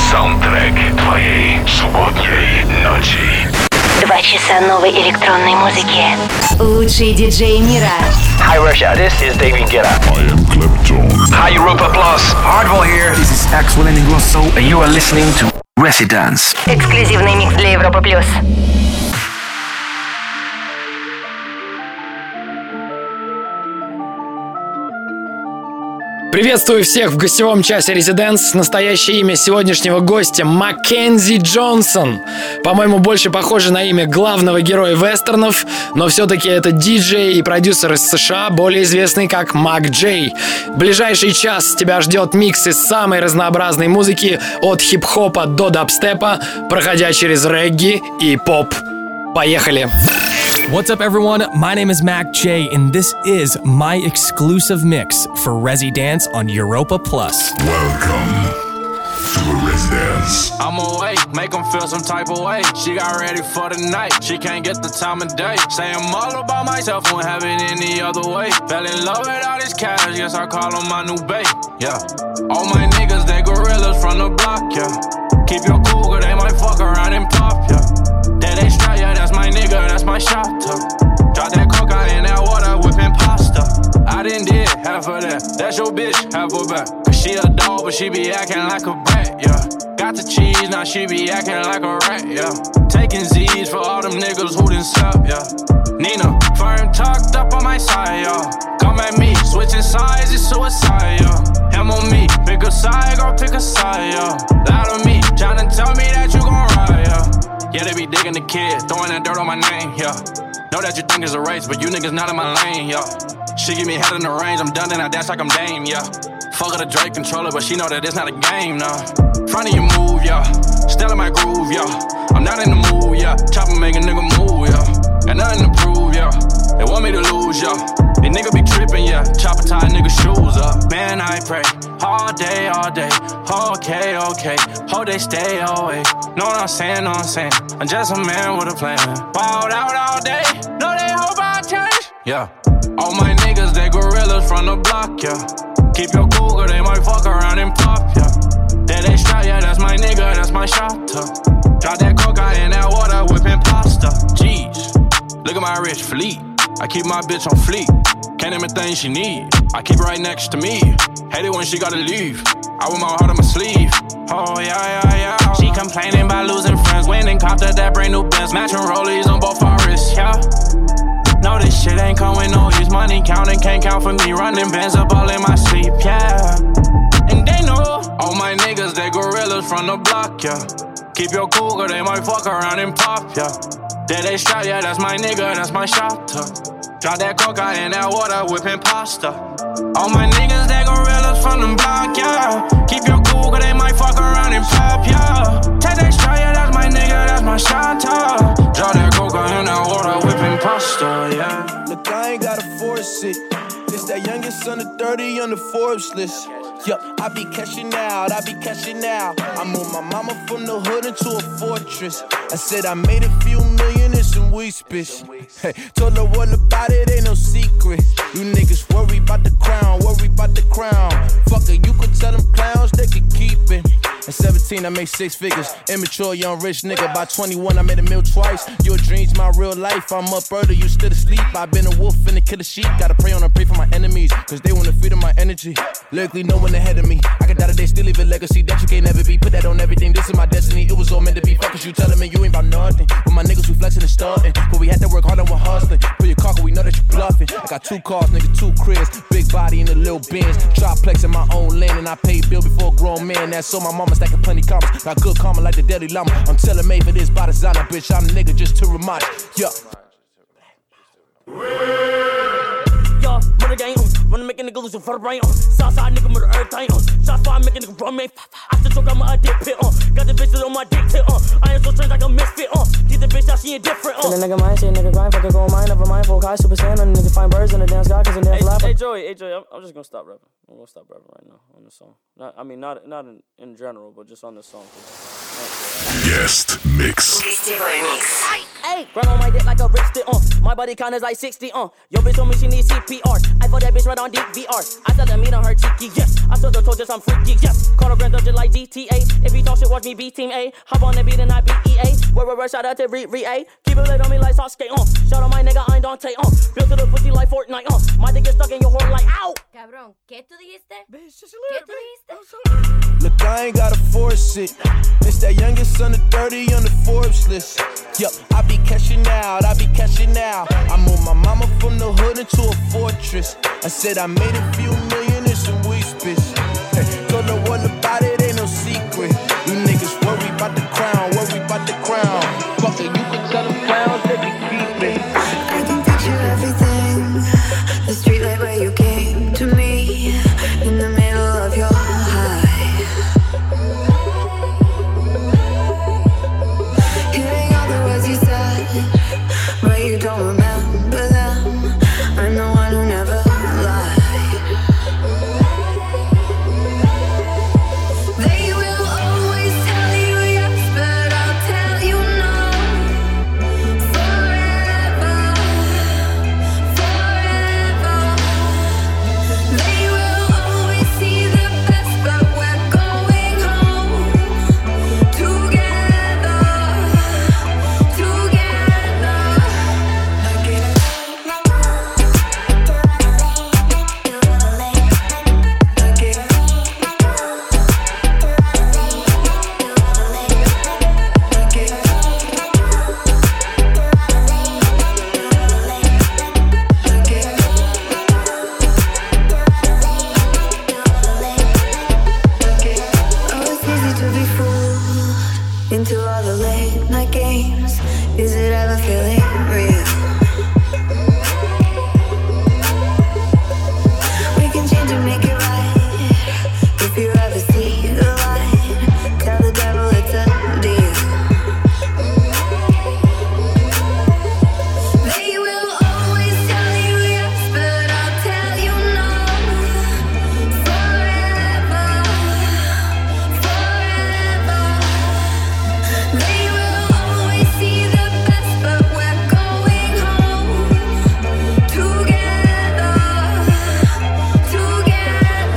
Саундтрек твоей субботней ночи. 2 часа новой электронной музыки. Лучшие диджеи мира. Hi Russia, this is David Guetta. I am Clapton. Hi Europa Plus. Hardwell here. This is Axel Ingrosso, and you are listening to Residence. Эксклюзивный микс для Европы плюс. Приветствую всех в гостевом часе Residence. Настоящее имя сегодняшнего гостя — Маккензи Джонсон. По-моему, больше похоже на имя главного героя вестернов, но все-таки это диджей и продюсер из США, более известный как Мак Джей. В ближайший час тебя ждет микс из самой разнообразной музыки, от хип-хопа до дабстепа, проходя через регги и поп. Поехали! What's up, everyone? My name is Mac J, and this is my exclusive mix for Residence on Europa Plus. Welcome to Residence. I'm awake, make them feel some type of way. She got ready for the night, she can't get the time of day. Say I'm all about myself, won't have it any other way. Fell in love with all this cash, yes, I call them my new bae, yeah. All my niggas, they gorillas from the block, yeah. Keep your cool, cause they might fuck around and pop, yeah. They strike, yeah, that's my nigga, that's my shot, drop that coca in that water, whipping pasta. I done did half of that, that's your bitch, half her back. Cause she a dog, but she be acting like a brat, yeah. Got the cheese, now she be acting like a rat, yeah. Taking Z's for all them niggas who done slept, yeah. Nina, firm tucked up on my side, yeah. Come at me, switching sides, it's suicide, yeah. Him on me, pick a side, go pick a side, yeah. Loud on me, tryna tell me that you gon' ride, yeah. Yeah, they be digging the kid, throwing that dirt on my name, yeah. Know that you think it's a race, but you niggas not in my lane, yeah. She give me head in the range, I'm done and I dance like I'm Dame, yeah. Fuck her the Drake controller, but she know that it's not a game, nah. Front of you move, yeah. Still in my groove, yeah. I'm not in the mood, yeah. Chopper make a nigga move, yeah. Got nothing to prove, yeah. They want me to lose, yeah. These niggas be tripping, yeah. Chopper tie niggas shoes up. Man, I pray all day, all day. Okay, okay. Hope they stay away. Know what I'm saying, know what I'm saying. I'm just a man with a plan. Balled out all day. Know they hope I change. Yeah. All my niggas, they gorillas from the block, yeah. Keep your cool, cause they might fuck around and pop, yeah. They strike, yeah, that's my nigga, that's my shot, drop that coca in that water, whipping pasta. Jeez, look at my rich fleet. I keep my bitch on fleek. Can't name a thing she need. I keep her right next to me. Hate it when she gotta leave. I wear my heart on my sleeve. Oh yeah, yeah, yeah. She complaining about losing friends. Went and copped her that brand new Benz. Matching rollies on both our wrists, yeah. No, this shit ain't come with no use. Money counting, can't count for me. Running bands up all in my sleep, yeah. And they know all my niggas, they gorillas from the block, yeah. Keep your cool, cause they might fuck around and pop, yeah. They strike, yeah, that's my nigga, that's my shot, drop that coca in that water, whipping pasta. All my niggas, they gorillas from the block, yeah. Keep your cool, cause they might fuck around and pop, yeah. Take that strike, yeah, that's my nigga, that's my shot, drop that coca in that water, whipping pasta, yeah. Look, I ain't gotta force it. It's that youngest son of 30 on the Forbes list. Yup, I be cashing out, I be cashing out. I moved my mama from the hood into a fortress. I said I made a few million in some weeks, bitch. Hey, told the world about it, ain't no secret. You niggas worry about the crown, worry about the crown. Fuck it, you could tell them clowns they could keep it. At 17, I made 6 figures. Immature, young, rich nigga. By 21, I made a meal twice. Your dreams, my real life. I'm up early, you still asleep. I've been a wolf and a killer sheep. Gotta pray on and pray for my enemies, cause they wanna feed on my energy. Lyrically, no one ahead of me. I could die today, still leave a legacy that you can't never be. Put that on everything, this is my destiny. It was all meant to be. Fuck is you telling me you ain't about nothing. But my niggas, we flexing and starting. But we had to work hard and we're hustling. Put your car, cause we know that you bluffing. I got 2 cars, nigga, 2 cribs. Big body in a little Benz. Troplex in my own land, and I paid bill before a grown man. That's so my mama stacking plenty commas. Got good karma like the Dalai Lama. I'm tailor-made for this by designer, bitch. I'm a nigga just to remind you. Yeah. Yo, murder gang on. Wanna make a nigga lose your vertebrae on. Southside nigga murder everything on. Shots fire, make a nigga run, man. I still choke, I'm a dick pit on. Got the bitches on my dick tip on. I ain't so strange like a misfit on. Get the bitch out, she indifferent on. Send a nigga mind, say a nigga grind, fuck a gold mine, never mind, full high, super sand, and a nigga find birds in the damn sky, cause a damn flapper. Hey Joey, I'm just gonna stop rapping. I'm gonna stop rapping right now on this song. Not in general, but just on this song. Guest mix. Hey, grind on my dick like a rip stick on. My body count is like 60 on. Your bitch told me she needs CPR. I life for that bitch right on DVR. I sell the meat on her cheeky, yes. I sell the toes, I'm freaky, yes. Call a grand just like GTA. If he talk shit, watch me be Team A. Hop on the beat and I be EA. Where, shout out to Re-A. Keep it lit on me like sauce skate, Shout out my nigga, I ain't Dante, Built to the pussy like Fortnite, My dick get stuck in your horn like, ow! Cabrón, ¿qué tú dijiste? Bitch, just a ¿Qué little tú bit. dijiste? Look, I ain't gotta force it. It's that youngest son of 30 on the Forbes list. Yup, I be cashing out, I moved my mama from the hood into a fortress. I said I made a few million in some weeks, bitch. Told no one about it, ain't no secret. You niggas worry about the crown, Fuck it, you can tell them clowns they be keeping. I can picture everything. The street light where you came to me. In the middle of your high. Hearing all the words you said, but you don't remember them. I'm the one who never lied. They will always tell you yes, but I'll tell you no. Forever, forever. They will always see the best, but we're going home together, together. Oh, it's easy to be fooled into all the late night games. Is it ever feeling real? We can change and make it right. If you ever see the light, tell the devil it's a deal. They will always tell you yes, but I'll tell you no. Forever, forever. They will always see the best, but we're going home together, together.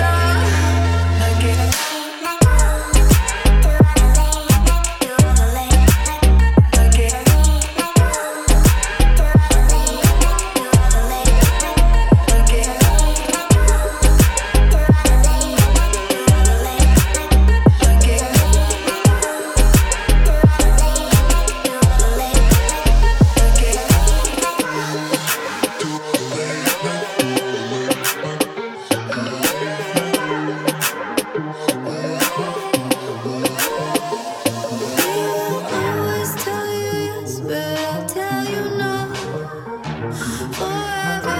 Always tell you yes, but I'll tell you no. Forever,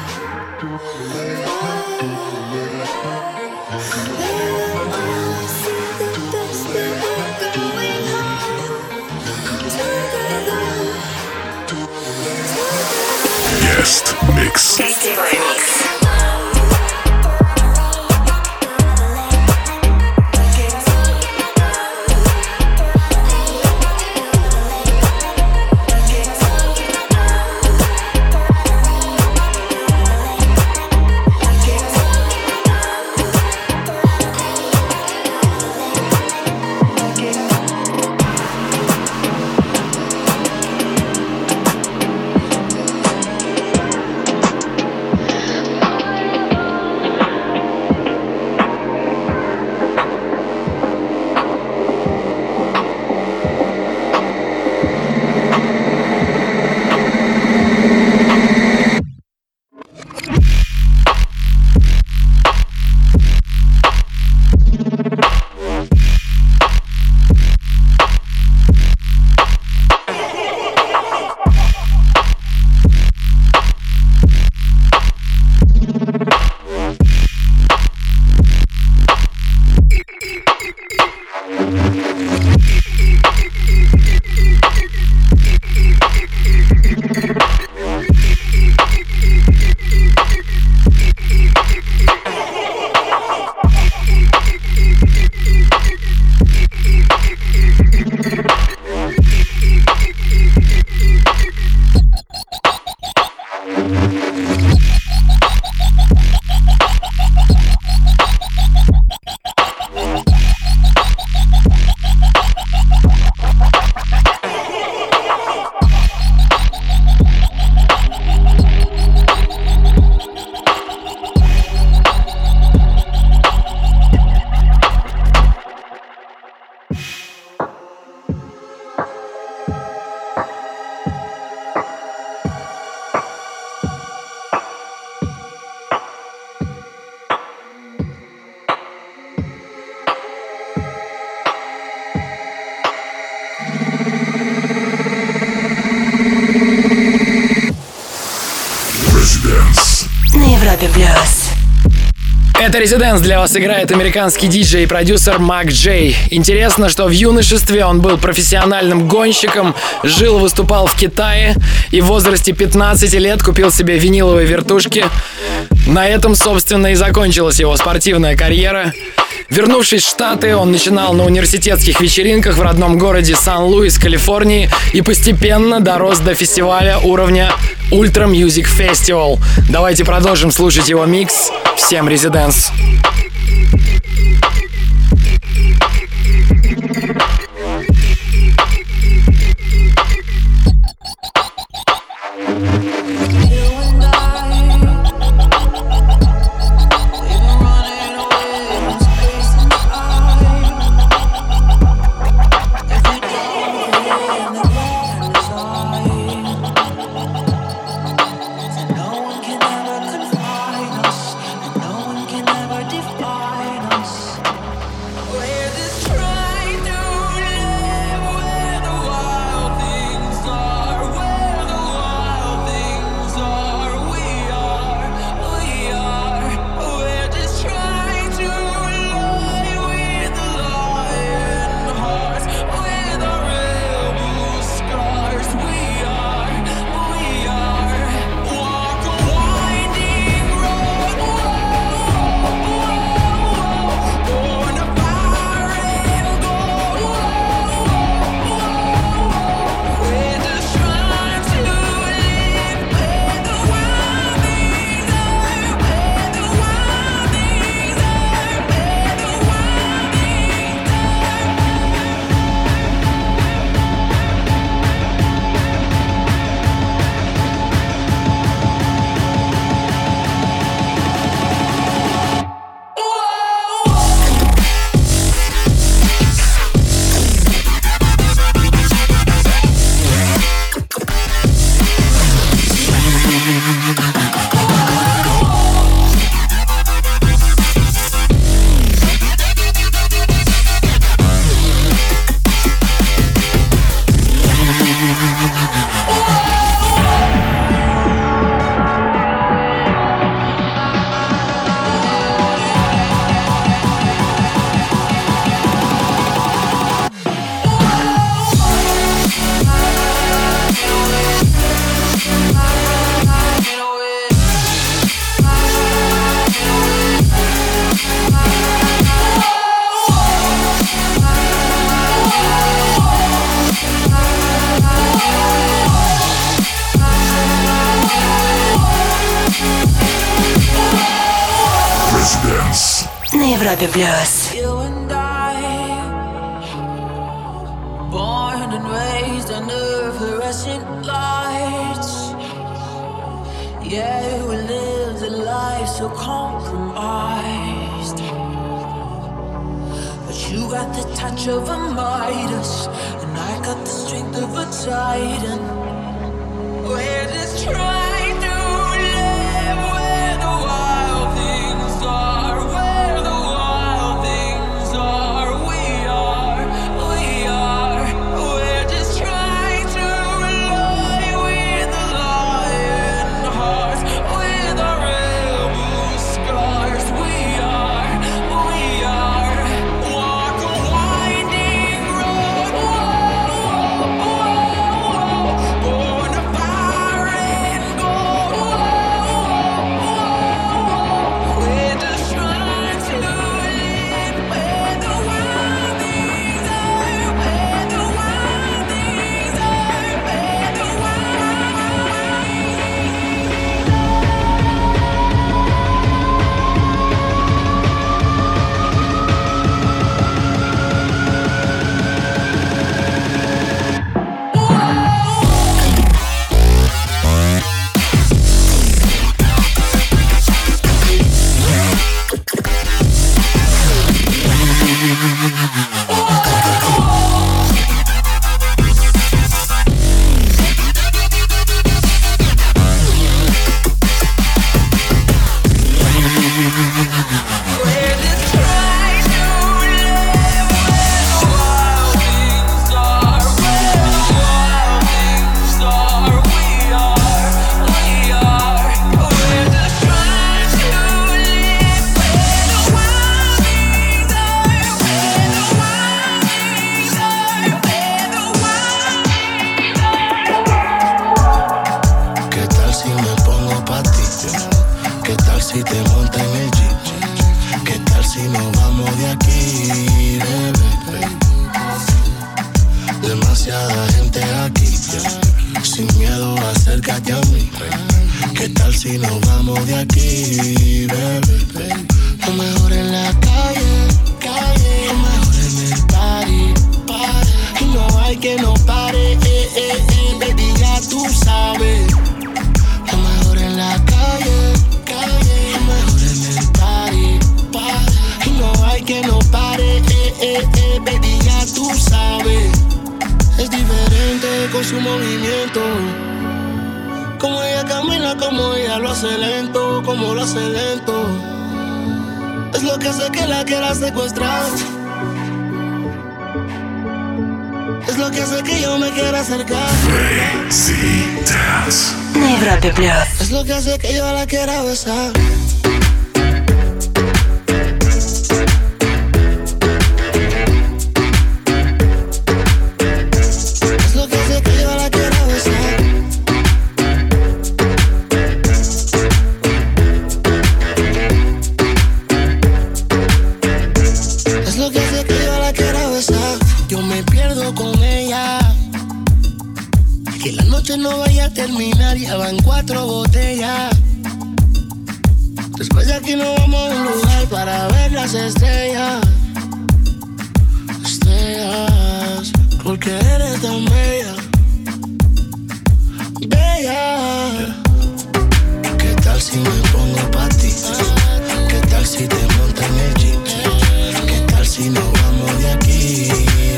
they will always see the best, but we're going home together, together. Guest mix. Европе плюс. Это «Резиденс», для вас играет американский диджей и продюсер Мак Джей. Интересно, что в юношестве он был профессиональным гонщиком, жил и выступал в Китае и в возрасте 15 лет купил себе виниловые вертушки. На этом, собственно, и закончилась его спортивная карьера. Вернувшись в Штаты, он начинал на университетских вечеринках в родном городе Сан-Луис, Калифорнии, и постепенно дорос до фестиваля уровня Ultra Music Festival. Давайте продолжим слушать его микс. Всем «Резиденс». На Европе плюс. Born and raised under fluorescent lights. Yeah, we lived a life so compromised. But you got the touch of a Midas, and I got the strength of a Titan. We're just trying to live where the wild things are. Where the wild things are. We are. We're just trying to lie with the lion hearts, with our rebel scars. We are. Walk a winding road. Born a fire and gold. si nos vamos de aquí, bebé? Demasiada gente aquí, sin miedo, acércate a mí. ¿Qué tal si nos vamos de aquí, bebé? Lo mejor en la calle, lo mejor en el party, y no hay que no pare, baby, ya tú sabes. Lo mejor en la calle, lo mejor en el party, y no hay que no pare, baby, ya tú sabes. Es diferente con su movimiento, como ella camina, como ella lo hace lento, como lo hace lento. Es lo que hace que la quiera secuestrar. Es lo que hace que yo me quiera acercar. Residence. На Европе Плюс. Es lo que hace que yo la quiera besar. No vaya a terminar, ya van 4 botellas. Después de aquí nos vamos a un lugar para ver las estrellas. Estrellas, porque eres tan bella, bella. ¿Qué tal si me pongo pa' ti? ¿Qué tal si te montas en el jeep? ¿Qué tal si nos vamos de aquí?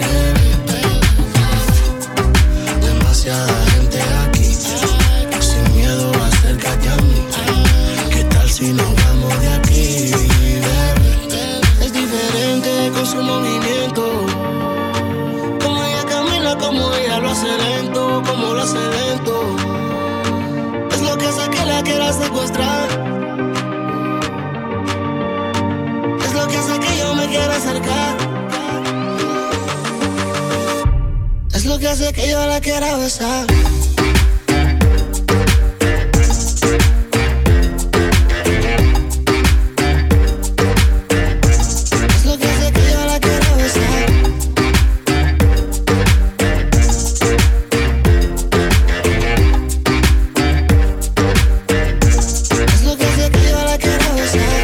Demasiada gente aquí, sin miedo, acércate a mí. ¿Qué tal si nos vamos de aquí, bebé? Es diferente con su movimiento, como ella camina, como ella lo hace lento, como lo hace lento. Es lo que hace que la quiera secuestrar. Es lo que hace que yo me quiera acercar. Es lo que hace que yo la quiera besar. Es lo que hace que yo la quiera besar. Es lo que hace que yo la quiera besar.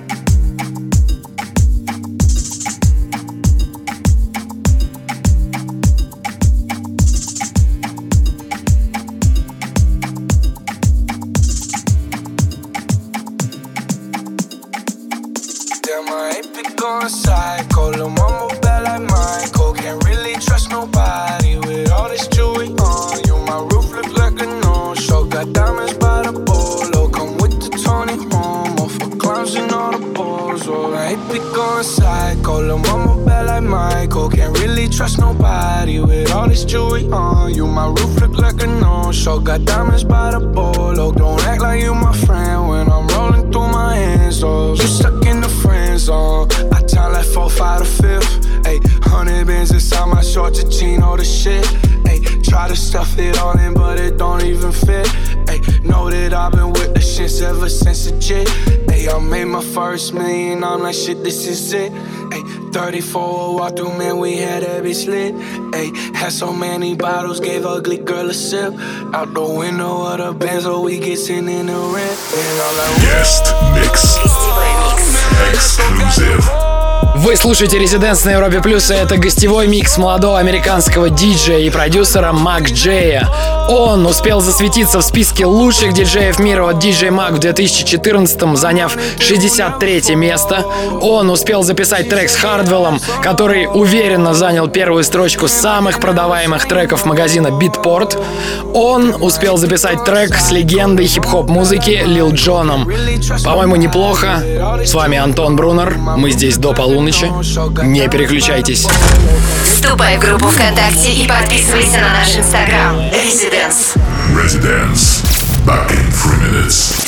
Psycho, lil' mama bad like Michael. Can't really trust nobody with all this jewelry on. You, my roof look like a no-show. Got diamonds by the bolo. Come with the Tony Homo for clowns and all the balls. Oh, I ain't be going psycho. Lil' mama bad like Michael. Can't really trust nobody with all this jewelry on. You, my roof look like a no-show. Got diamonds by the bolo. Don't act like you my friend when I'm rolling through my hands. Oh, you stuck in the friend zone. I time like 4, 5 to 5th. Ayy, 100 bands inside my shorts, a Gino the shit. Ayy, try to stuff it all in, but it don't even fit. Ayy, know that I've been with the shits ever since a jit. Ayy, I made my first million, I'm like, shit, this is it. Ayy, 34 walk through, man, we had that bitch lit. Ayy, had so many bottles, gave ugly girl a sip. Out the window of the Benzo, we get sitting in the rent. And I'm like, Guest mix. Exclusive. Вы слушаете Residence на Европе Плюс, и это гостевой микс молодого американского диджея и продюсера Мак Джея. Он успел засветиться в списке лучших диджеев мира от DJ Mag в 2014-м, заняв 63-е место. Он успел записать трек с Хардвеллом, который уверенно занял первую строчку самых продаваемых треков магазина Beatport. Он успел записать трек с легендой хип-хоп музыки Лил Джоном. По-моему, неплохо. С вами Антон Брунер. Мы здесь до полуночи. Не переключайтесь. Вступай в группу ВКонтакте и подписывайся на наш Инстаграм. Residence. Residence. Back in 3 minutes.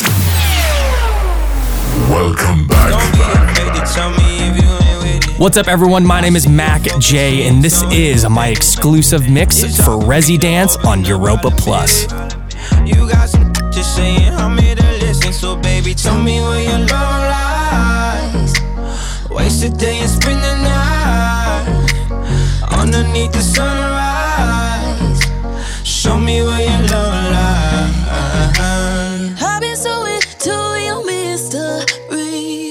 Welcome back. What's up, everyone? My name is Mac J, and this is my exclusive mix for Residence on Europa Plus. You got some just saying I'm here to listen, so baby, tell me where your love lies. Waste the day and spend the night underneath the sunrise. Show me where your love lies. I've been so into your mystery.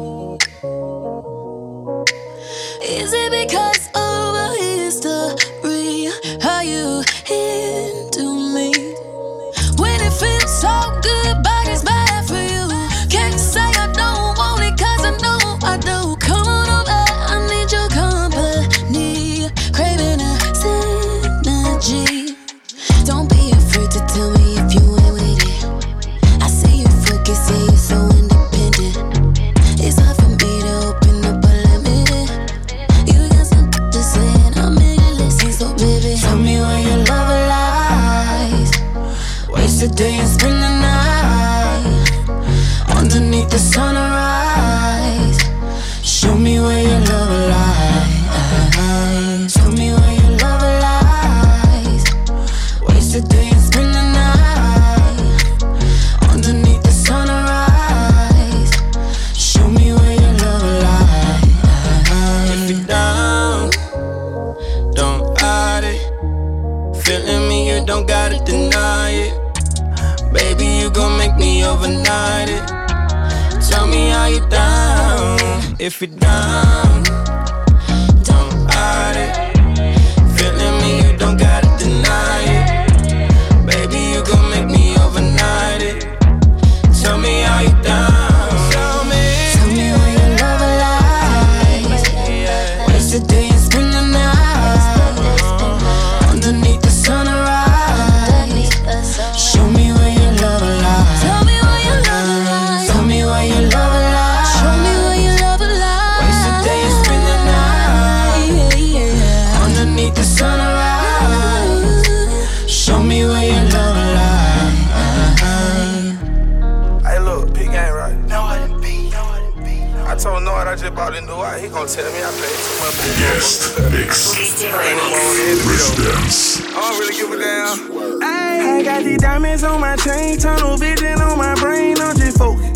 Is it because of a history? Are you into me? When it feels so good, but it's bad for you. Can't say I don't want it, cause I know I do. Come on over, I need your company. Craving a synergy. Don't be afraid to tell me if you ain't with it. I see you focus, see you so independent. It's hard for me to open up, but let me in. You got something to say and I'm in it, listen, so baby, Tell me where your love lies. Waste the day and spend the night underneath the sunrise. Show me where your love lies. Tell me where your love lies. Waste the day and spend the night underneath the sunrise. Show me where your love lies. If you're down, don't hide it. Feeling me, you don't gotta deny it. Baby, you gon' make me overnight it. Tell me how you down. If you're down, don't hide it. Feeling me, you don't gotta deny it. Baby, you gon' make me overnight it. Tell me how you down. Tell me where your love lies. Waste the day and spend the night underneath the sunrise. Show me where your love lies. tell me where your love lies. Tell me where your love lies. Show me where your love lies. Waste the day and spend the night underneath the sunrise. Show me where your love lies. Hey, look, P game right. No, I didn't beat. I told Noah I just bought in Dubai. He gon' tell me I paid too much. Guest mix. Residence. I don't really give a damn. I got these diamonds on my chain, tunnel vision on my brain, I'm just focused.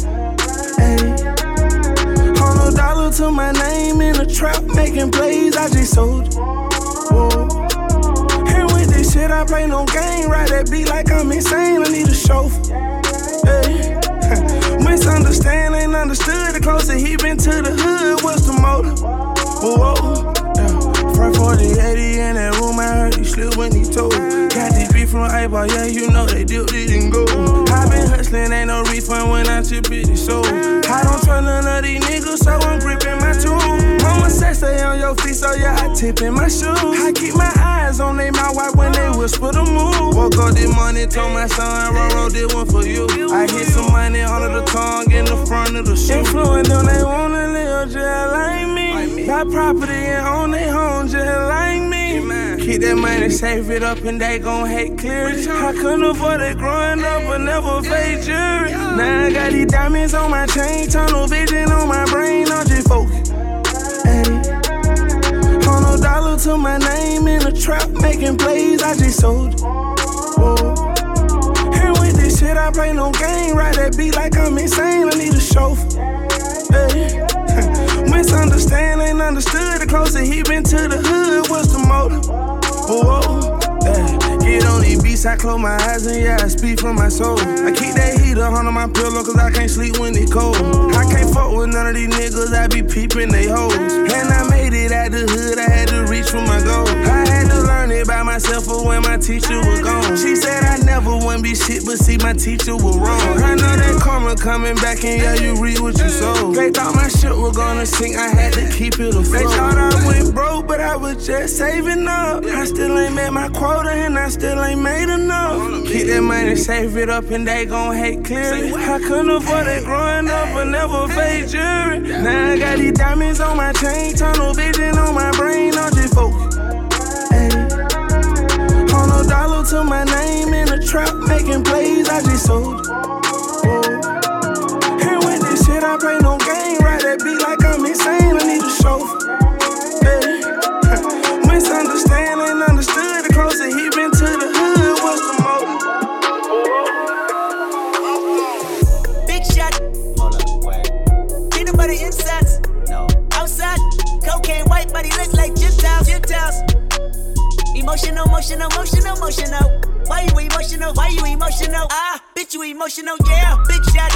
$100 to my name in the trap, making plays, I just sold it. Whoa. And with this shit, I play no game, ride that beat like I'm insane, I need a chauffeur. Hey. Misunderstand, ain't understood, the closer he been to the hood, what's the motive? Whoa. Front 4080 in that room, I heard he slipped when he told. Got this beef from April, yeah, you know they dipped it and go. I been hustling, ain't no refund when I chip it and sold. I don't trust none of these niggas, so I'm gripping my tool. Mama said stay on your feet, so yeah, I tip in my shoes. I keep my eyes on they mouth white when they whisper the move. Woke up this morning, told my son, Roro did one for you. I hit some money under the tongue in the front of the shoe. Influence them, they wanna live just like me. Got property and own they home just like me. Keep that money, save it up and they gon' hate clear. I couldn't afford it growing up, but never fake jury. Now I got these diamonds on my chain, tunnel vision on my brain, I'm just focused. $100 to my name in the trap, making plays, I just sold it. Whoa. And with this shit, I play no game, ride that beat like I'm insane, I need a chauffeur. Hey. Misunderstand, ain't understood, the closer he been to the hood, what's the motive? Whoa. Get on these beats, I close my eyes and yeah, I speak from my soul. I keep that heater on my pillow cause I can't sleep when it cold. I can't fuck with none of these niggas, I be peeping they hoes. And I made it out the hood, I had to reach for my goal. I had to learn it by myself for when my teacher was gone. She said I never wouldn't be shit, but see my teacher was wrong. I know that karma coming back and yeah, you read what you sow. They thought my shit was gonna sink, I had to keep it afloat. They thought I went broke, but I was just saving up. I still ain't met my quota and I still ain't made enough. Keep that money, save it up and they gon' hate clearly. I couldn't afford it growing up, but never fake jury. Now I got these diamonds on my chain, tunnel vision on my brain, I'm just focused. $100 to my name in the trap, making plays, I just sold it. Whoa. And with this shit, I play no game, ride that beat like I'm insane, I need a chauffeur. Hey. Misunderstand, ain't understood, the closer he been to the hood, what's the motive? Big shot. Hold up, wait. Peanut butter insides. No. body look like Gentiles. Emotional. Why you emotional? Ah, bitch, you emotional, yeah. Big shot.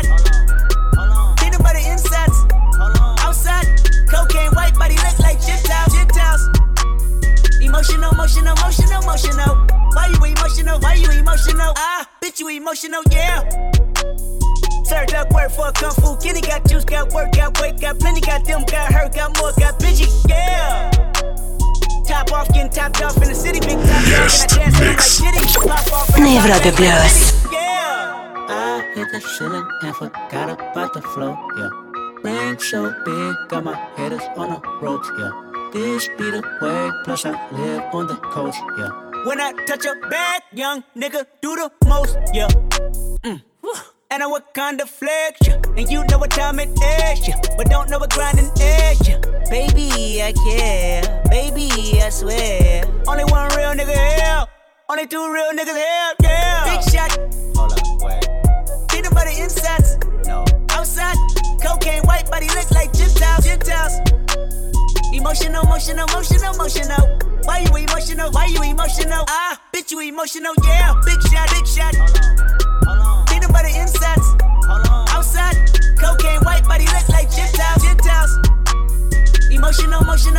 Peanut butter insides. Outside, cocaine, white body look like Gentiles. Emotional. Why you emotional? Ah, bitch, you emotional, yeah. Served up work for a kung fu kitty. Got juice, got work, got weight, got plenty. Got them, got hurt, got more, got bitchy, yeah. Top off, getting topped off in the city. Big top off, and I dance like Diddy. Pop off, на Европе Плюс. I hit the ceiling and forgot about the flow, yeah. Ring so big, got my haters on the ropes, yeah. This be the way, plus I live on the coast, yeah. When I touch a bag, young nigga do the most, yeah. And I work kind of flex, yeah. And you know what time it is, yeah. But don't know what grinding is, yeah. Baby, I care. Baby, I swear. Only one real nigga here. Only two real niggas here, yeah. Big shot. Hold up, wait. Peanut butter insides. No. Outside, cocaine, white body looks like Gentiles. Emotional. Why you emotional? Ah, bitch, you emotional, yeah. Big shot. Hold on. Peanut butter insides. Outside, cocaine, white body look like Gentiles. Emotional.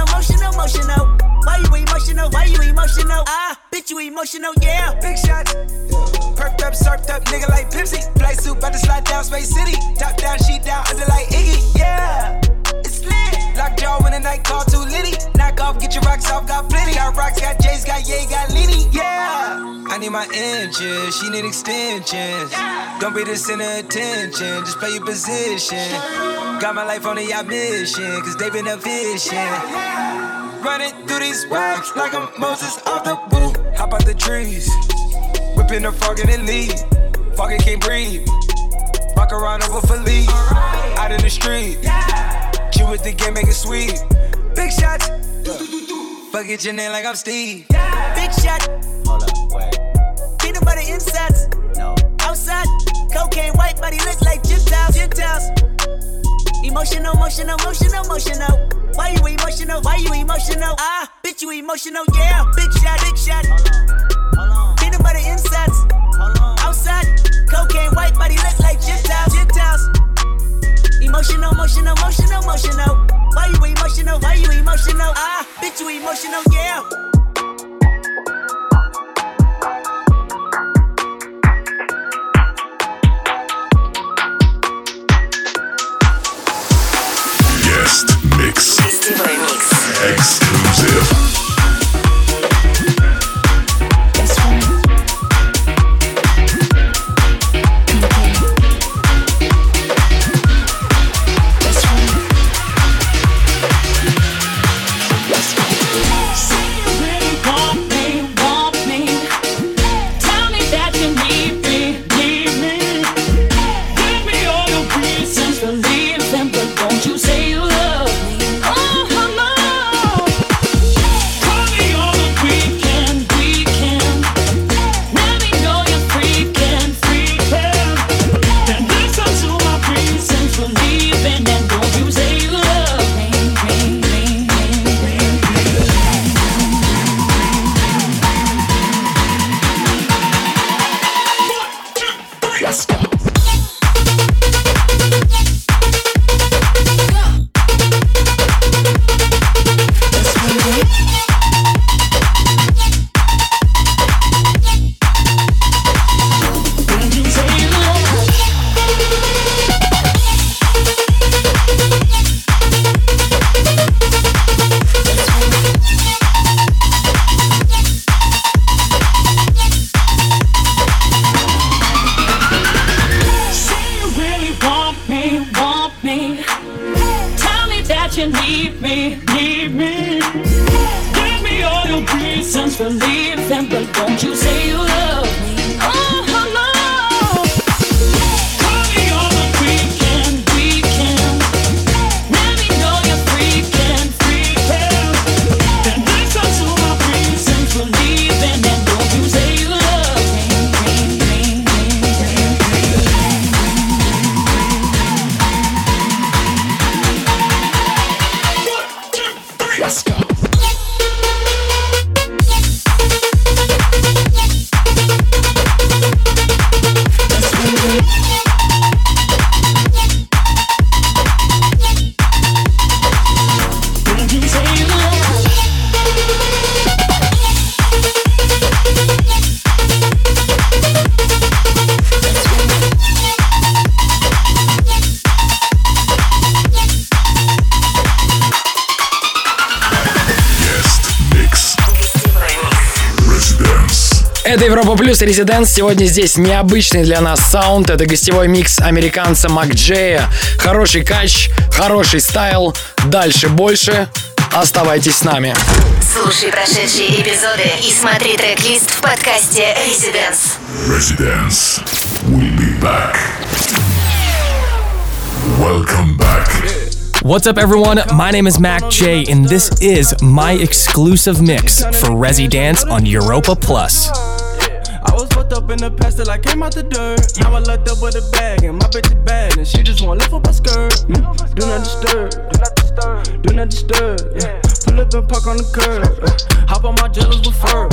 Why you emotional? Ah, bitch, you emotional, yeah. Big shots. Perked up, surfed up, nigga like Pepsi. Flight suit, bout to slide down Space City. Top down, sheet down, under like Iggy, yeah. It's lit. Lockjaw when the night call too litty. Knock off, get your rocks off, got plenty. Got rocks, got J's, got Ye, got Lenny, yeah. I need my inches, she need extensions. Don't be the center of attention, just play your position. Got my life on a yacht mission, cause they been efficient. Running through these waves like I'm Moses off the boot. Hop out the trees, whipping the frog in the lead. Fucking can't breathe. Walk around over for leave. Out in the street, chew with the game, make it sweet. Big shots, fuck it your name like I'm Steve. Big shot. Hold up, wait. Peanut butter insides. No. Outside, cocaine, white body looks like Gentiles. Emotional. Why you emotional? Ah, bitch, you emotional, yeah. Big shot. Hold on. Peanut butter insides. Outside, cocaine, white body looks like Gentiles. Emotional. Why you emotional? Ah, bitch, you emotional, yeah. Guest mix. Гостевой микс. Exclusive. Don't you say you love me? Oh, no. reasons for leaving, but don't you say you love me. Oh, no. Call me on the weekend. Let me know you're freaking. Then listen to my reasons for leaving, and don't you say you love me. Let's go. Это Европа Плюс Резиденс. Сегодня здесь необычный для нас саунд. Это гостевой микс американца Мак Джея. Хороший кач, хороший стайл. Дальше больше. Оставайтесь с нами. Слушай прошедшие эпизоды и смотри трек-лист в подкасте Residence. Residence. We'll be back. Welcome back. What's up, everyone? My name is Mac J, and this is my exclusive mix for Residence on Europa Plus. I was fucked up in the past till I came out the dirt. Now I locked up with a bag and my bitch is bad and she just wanna lift up my skirt. Do not disturb, do not disturb, do not disturb. Yeah. Pull up and park on the curb. Hop on my jealous with fur.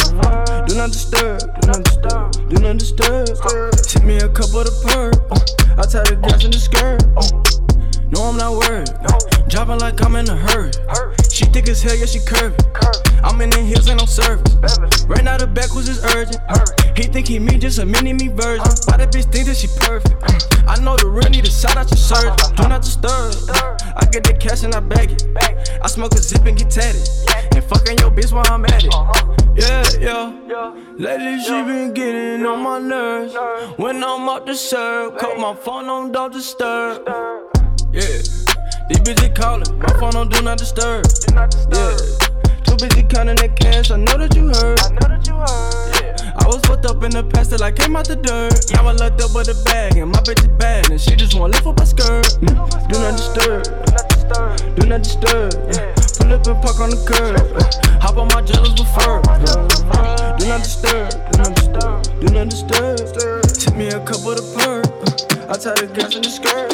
Do not disturb, do not disturb, do not disturb. Hit me a cup of the perk. I tie the gas in the skirt. No, I'm not worried. Dropping like I'm in a hurry. She thick as hell, yeah, she curvy. I'm in the hills, ain't no service. Right now the back was just urgent. He think he me, just a mini-me version. Why that bitch think that she perfect? I know the real need to shout out your surgeon. Do not disturb. I get the cash and I bag it. I smoke a zip and get tatted. And fucking your bitch while I'm at it. Yeah. Lately she been getting on my nerves. When I'm up to serve, cut my phone on don't disturb. Yeah, these bitches calling, my phone on do not disturb. Yeah, too busy counting that cash, I know that you heard. Yeah, I was fucked up in the past till I came out the dirt. Now I locked up with a bag and my bitch is bad and she just wanna lift up my skirt. Do not disturb, do not disturb. Yeah. Pull up and park on the curb. Hop on my jealous with fur. Do not disturb, do not disturb, do not disturb. Tip me a cup of the perk. I tie the gas in the skirt.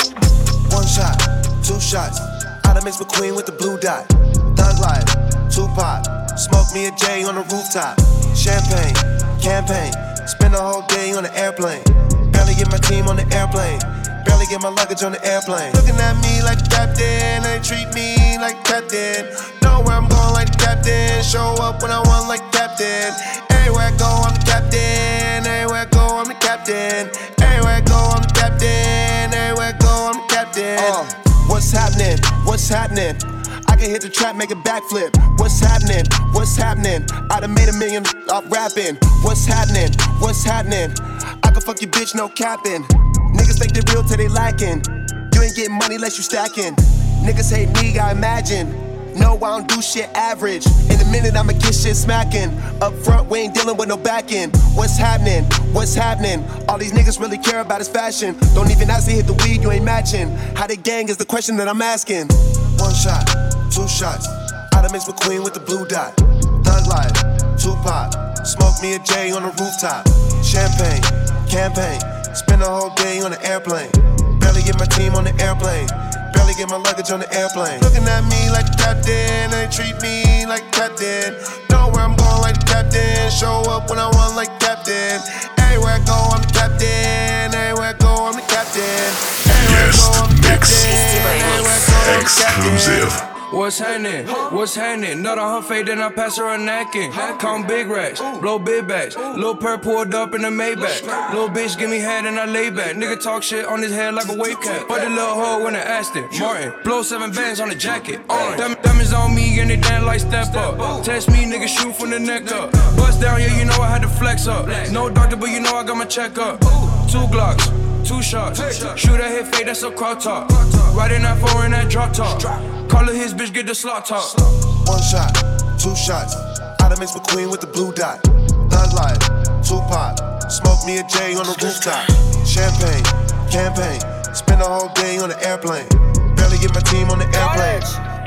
One shot, two shots. I done mix McQueen with the blue dot. Thug life, Tupac. Smoke me a J on the rooftop. Champagne, campaign. Spend the whole day on the airplane. Barely get my team on the airplane. Barely get my luggage on the airplane. Looking at me like the captain, they treat me like captain. Know where I'm going like the captain. Show up when I want like captain. Everywhere I go, I'm the captain. Everywhere I go, I'm the captain. Everywhere I go, I'm the captain. Everywhere I go, I'm the captain. What's happening? What's happening? I can hit the trap, make a backflip. What's happening? What's happening? I done made $1 million off rapping. What's happening? What's happening? I can fuck your bitch, no capping. Niggas think they real till they lacking. You ain't getting money unless you stacking. Niggas hate me, I imagine. No, I don't do shit average. In a minute, I'ma get shit smacking. Up front, we ain't dealing with no back end. What's happening? What's happening? All these niggas really care about is fashion. Don't even ask to hit the weed, you ain't matching. How they gang is the question that I'm asking. One shot, two shots. I done mix McQueen with the blue dot. Thug life, Tupac. Smoke me a J on the rooftop. Champagne, campaign. Spend the whole day on the airplane. Barely get my team on the airplane. Barely get my luggage on the airplane. Looking at me like the captain, they treat me like captain. Know where I'm going like the captain. Show up when I want like captain. Everywhere I go, I'm the captain. Everywhere I go, I'm the captain. Everywhere I go, I'm the captain. Everywhere I go, I'm the captain. Exclusive. What's happening? What's happening? Nut on her face, then I pass her a napkin. Count big racks, blow big bags. Lil' Perp pulled up in the Maybach. Lil' bitch give me head and I lay back. Nigga talk shit on his head like a wave cap. But the little hoe when I asked it. Martin, blow 7 bands on the jacket. Diamonds on me and they dance like step up. Test me, nigga shoot from the neck up. Bust down, yeah, you know I had to flex up. No doctor, but you know I got my check up. 2 Glocks. 2 shots, shoot at hit fade, that's a crowd talk. Riding that 4 in that drop top. Call her his bitch, get the slot top. 1 shot, 2 shots. I done mix McQueen with the blue dot. Thug life, Tupac. Smoke me a J on the rooftop. Champagne, campaign. Spend the whole day on the airplane. Barely get my team on the airplane.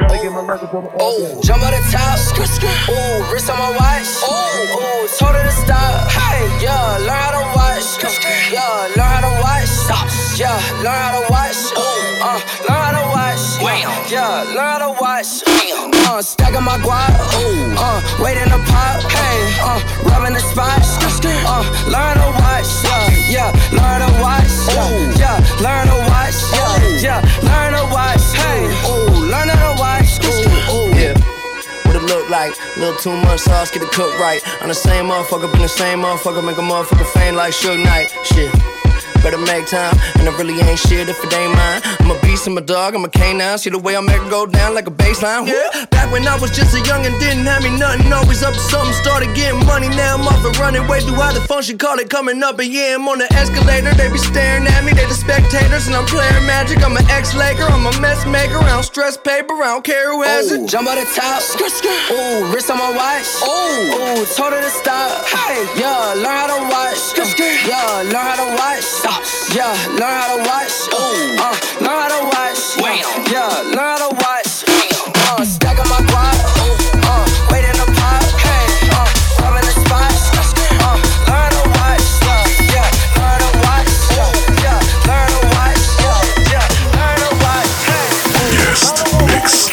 Oh, jump on the top. Ooh, wrist on my watch. Ooh, told her to stop. Hey, yeah, learn how to watch. Yeah, learn how to watch. Yeah, learn how to watch. Learn how to watch. Yeah, learn how to watch. Stacking my guap, wait in the pot, hey, rubbing the spot, learn to watch, yeah, learn to watch, yeah, learn to watch, yeah, learn to watch, hey, learn how to watch, yeah. What it look like? Little too much sauce, get it cooked right. I'm the same motherfucker, been the same motherfucker, make a motherfucker faint like Suge Knight, shit. Better make time, and I really ain't shit if it ain't mine. I'm a beast, I'm a dog, I'm a canine. See the way I make it go down like a baseline. Yeah. Back when I was just a young and didn't have me nothing, always up to something, started getting money. Now I'm off and running way through how the function call it coming up. And yeah, I'm on the escalator, they be staring at me, they the spectators, and I'm playing magic. I'm an ex-Laker, I'm a mess maker. I don't stress paper, I don't care who has it. Jump out the top, ooh, wrist on my watch, ooh, told her to stop. Hey, yeah, learn how to watch, yeah, learn how to watch. Yeah, learn how to watch. Learn how to watch. Yeah, learn how to watch. Stacking my guap. Wait in the pot. Hey, rubbing the spot. Learn to watch. Yeah, learn to watch. Yeah, learn to watch. Yeah, learn to watch. Hey. Guest mix.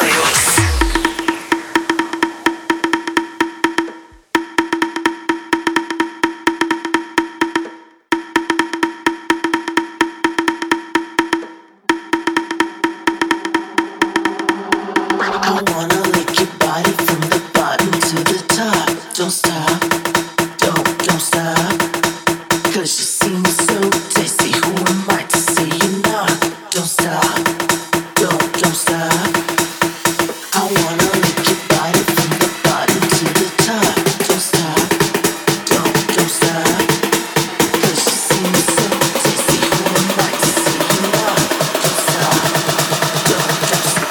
Don't stop, don't stop. Cause you seem so tasty. Who am I to say you're not? Don't stop, don't stop. I wanna lick your body from the bottom to the top. Don't stop, don't stop. Cause you seem so tasty. Who am I to say you're not? Don't stop, don't stop.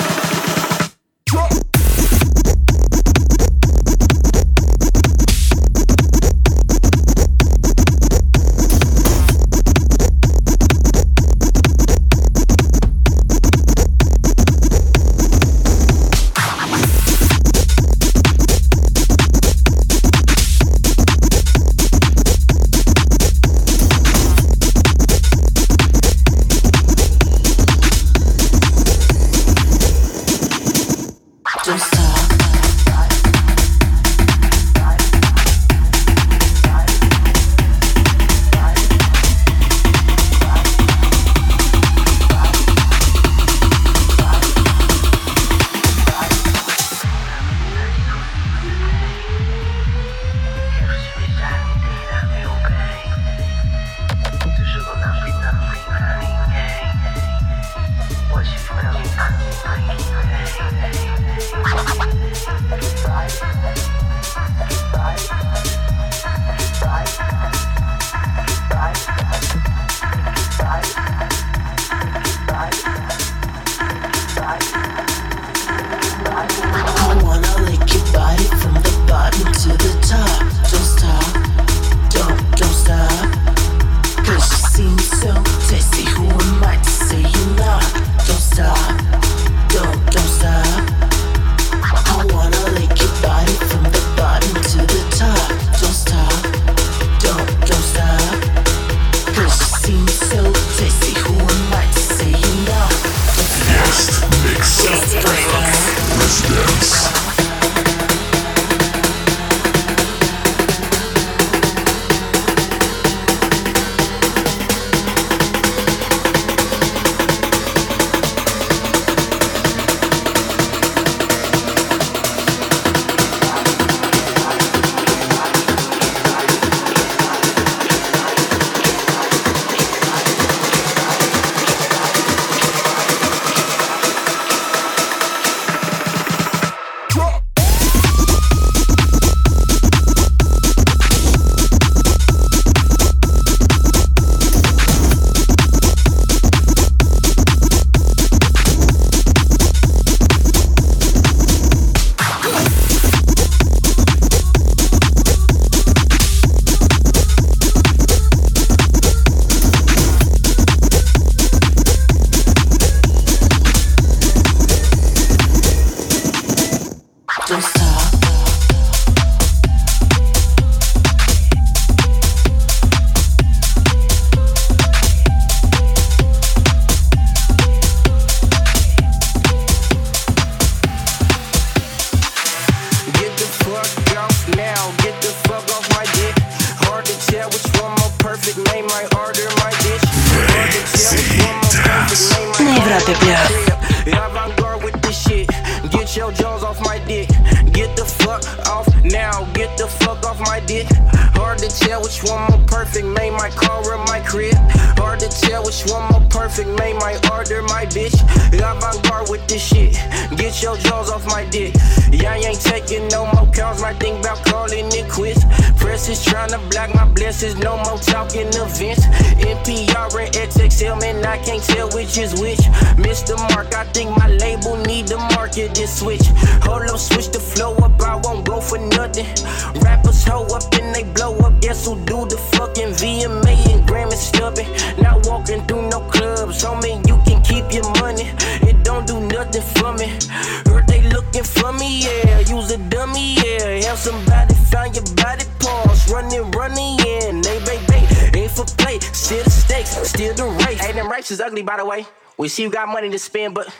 Европе плюс. Avant-garde with this shit. Get your jaws off my dick. Get the fuck off now. Get the fuck off my dick. Hard to tell which one more perfect. Made my car or my crib. Hard to tell which one more perfect. Made my order my bitch. Avant-garde with this shit. Get your jaws off my dick. Yeah, I ain't taking no more calls. My thing about calling it quits. Press is trying to block my blessings. No more talking events. NPR and XXL, man, I can't tell which is which. Missed the mark, I think my label need to market this switch. Hold up, switch the flow up, I won't go for nothing. Rappers hoe up and they blow up. Guess who do the fucking VMA and Grammy stubbing? Not walking through no clubs, homie, you can keep your money. It don't do nothing for me. Heard they looking for me, yeah. Use a dummy, yeah. Have somebody find your body parts. Running in. They baby, ain't for play. Still the stakes, still the race. Hey, them races ugly, by the way. We see you got money to spend, but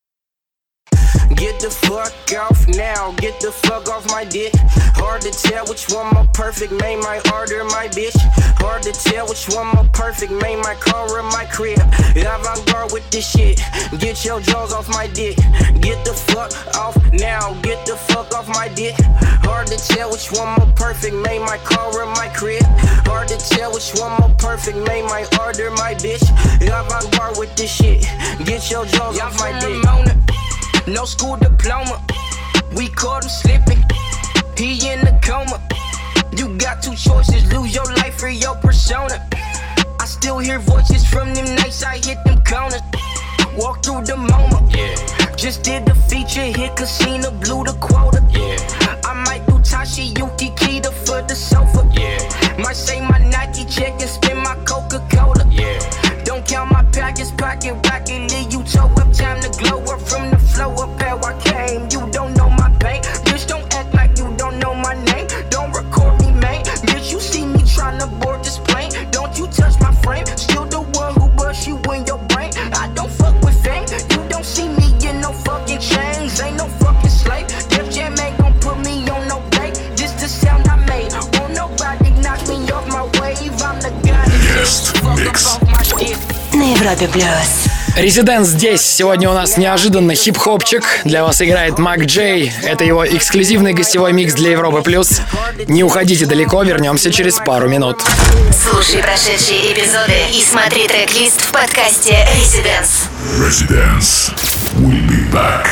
get the fuck off now, get the fuck off my dick. Hard to tell which one more perfect. Made my order my bitch. Hard to tell which one more perfect. Made my car or my crib. Avant-garde with this shit. Get your jaws off my dick. Get the fuck off now, get the fuck off my dick. Hard to tell which one more perfect. Made my car or my crib. Hard to tell which one more perfect. Made my order my bitch. Avant-garde with this shit. Get your jaws off my dick. No school diploma, we caught him slipping. He in the coma. You got two choices, lose your life or your persona. I still hear voices from them nights I hit them corners. Walk through the MoMA, yeah. Just did the feature hit casino, blew the quota, yeah. I might do Tashi Yuki Kita for the sofa, yeah. Might say my Nike check and spend my Coca-Cola, yeah. Don't count my packets, pocket rocket, leave you toe up, time to glow up from the flow up how I came. You don't know my pain, bitch, don't act like you don't know my name. Don't record me, man, bitch, you see me tryna board this plane. Don't you touch my frame, still the one who bust you in your brain. I don't fuck with fame, you don't see me in no fucking chains. Ain't no fucking slave, Def Jam ain't gon' put me on no break. This the sound I made, won't nobody knock me off my wave. I'm the guy that fuck up off my dick. На Европе плюс. Резиденс здесь. Сегодня у нас неожиданно хип-хопчик. Для вас играет Мак Джей. Это его эксклюзивный гостевой микс для Европы плюс. Не уходите далеко, вернемся через пару минут. Слушай прошедшие эпизоды и смотри трек-лист в подкасте Residence. Residence. We'll be back.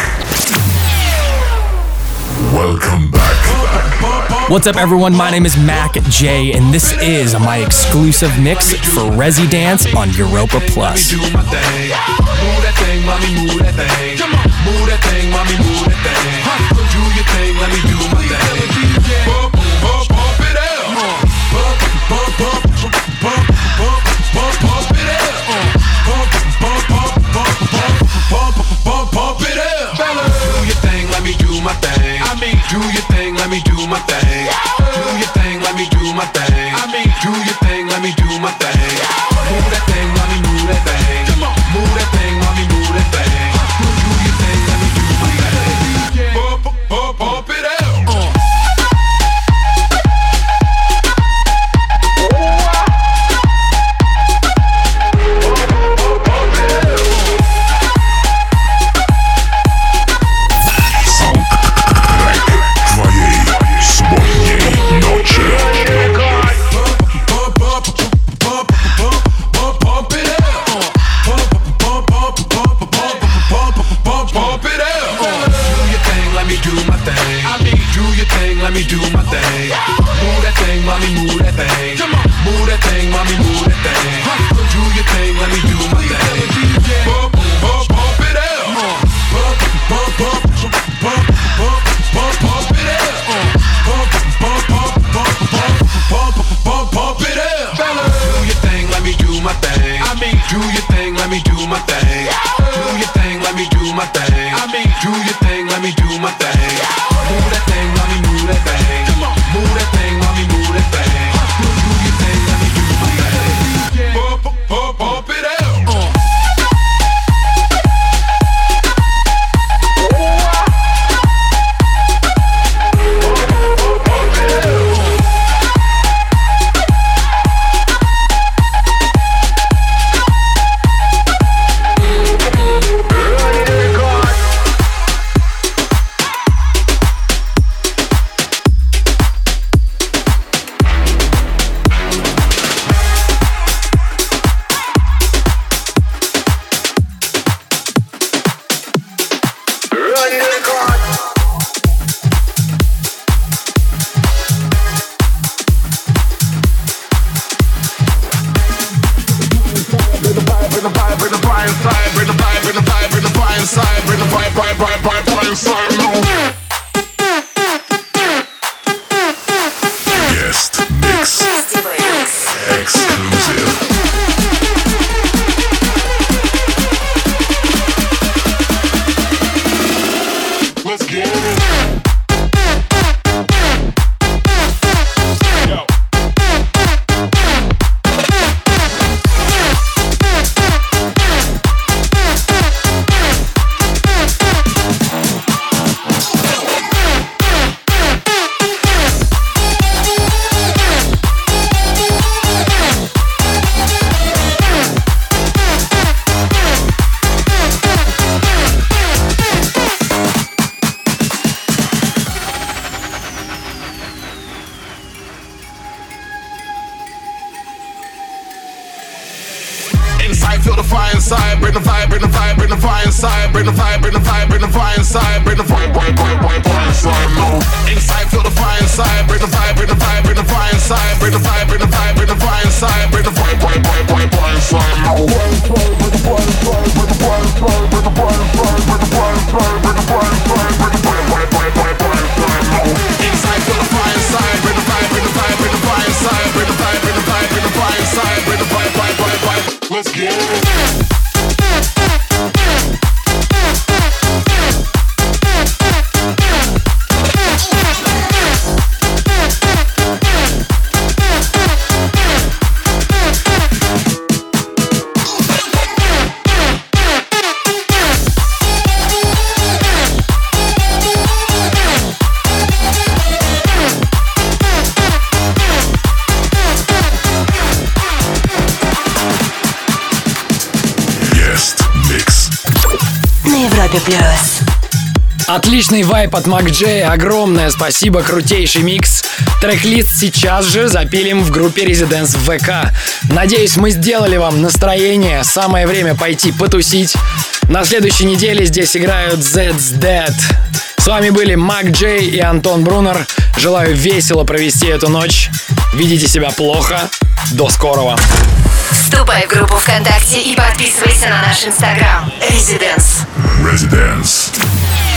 Welcome back. What's up, everyone? My name is Mac J, and this is my exclusive mix for Residence on Europa Plus. Move that thing, mommy, move that thing. Come on, move that thing, mommy, move that thing. Do your thing, let me do my thing. Bump, bump, bump it out. Bump, bump, bump, bump, bump, bump, bump it out. Bump, bump, bump, bump, bump, bump, bump it out. Do your thing, let me do my thing. I mean, do your thing, let me do my thing. Do your thing, let me do my thing. I mean, do your thing, let me do my thing. Move that thing, mommy, move that thing. Come on, move that thing, mommy, move that thing. Do your thing, let me do my thing. Bump, bump, bump it out. Let me do my thing. Move that thing, mommy, move that thing. Come on, move that thing, mommy, move that thing. Do your thing, let me do my thing. Bump, bump, bump it out. Bump, bump, bump, bump, bump, bump, bump it out. Bump, bump, bump, bump, bump, bump, bump it out. Do your thing, let me do my thing. I mean, do your thing, let me do my thing. Do your thing, let me do my thing. I mean, do your thing, let me do my thing. Move that thing, mommy, move that thing. Come on, move that thing, mommy, move that thing. Do your thing, let me do my thing. Bump, bump, bump it out. Guest mix exclusive. Let's get it. Inside, feel the fire inside. Bring the vibe, bring the vibe, bring the fire inside. Bring the vibe, bring the vibe, bring the fire inside. Bring the vibe, fire inside. No. Inside, feel the fire inside. Bring the vibe, bring the vibe, bring the fire inside. Bring the vibe, bring the vibe, bring the fire inside. Bring the vibe, fire inside. No. Bring the fire inside. Bring the fire inside. Bring the fire inside. Bring the fire inside. Bring the fire inside. Bring the fire inside. Bring the fire inside. No. Inside, feel the fire inside. Bring the vibe, bring the vibe, bring the fire inside. Bring the vibe, bring the vibe, bring the fire inside. Bring the vibe, fire. Let's get it. Отличный вайп от Mac J, огромное спасибо, крутейший микс. Трек-лист сейчас же запилим в группе Residence в ВК. Надеюсь, мы сделали вам настроение, самое время пойти потусить. На следующей неделе здесь играют Zed's Dead. С вами были Mac J и Антон Брунер. Желаю весело провести эту ночь. Ведите себя плохо. До скорого. Вступай в группу ВКонтакте и подписывайся на наш Инстаграм. Residence.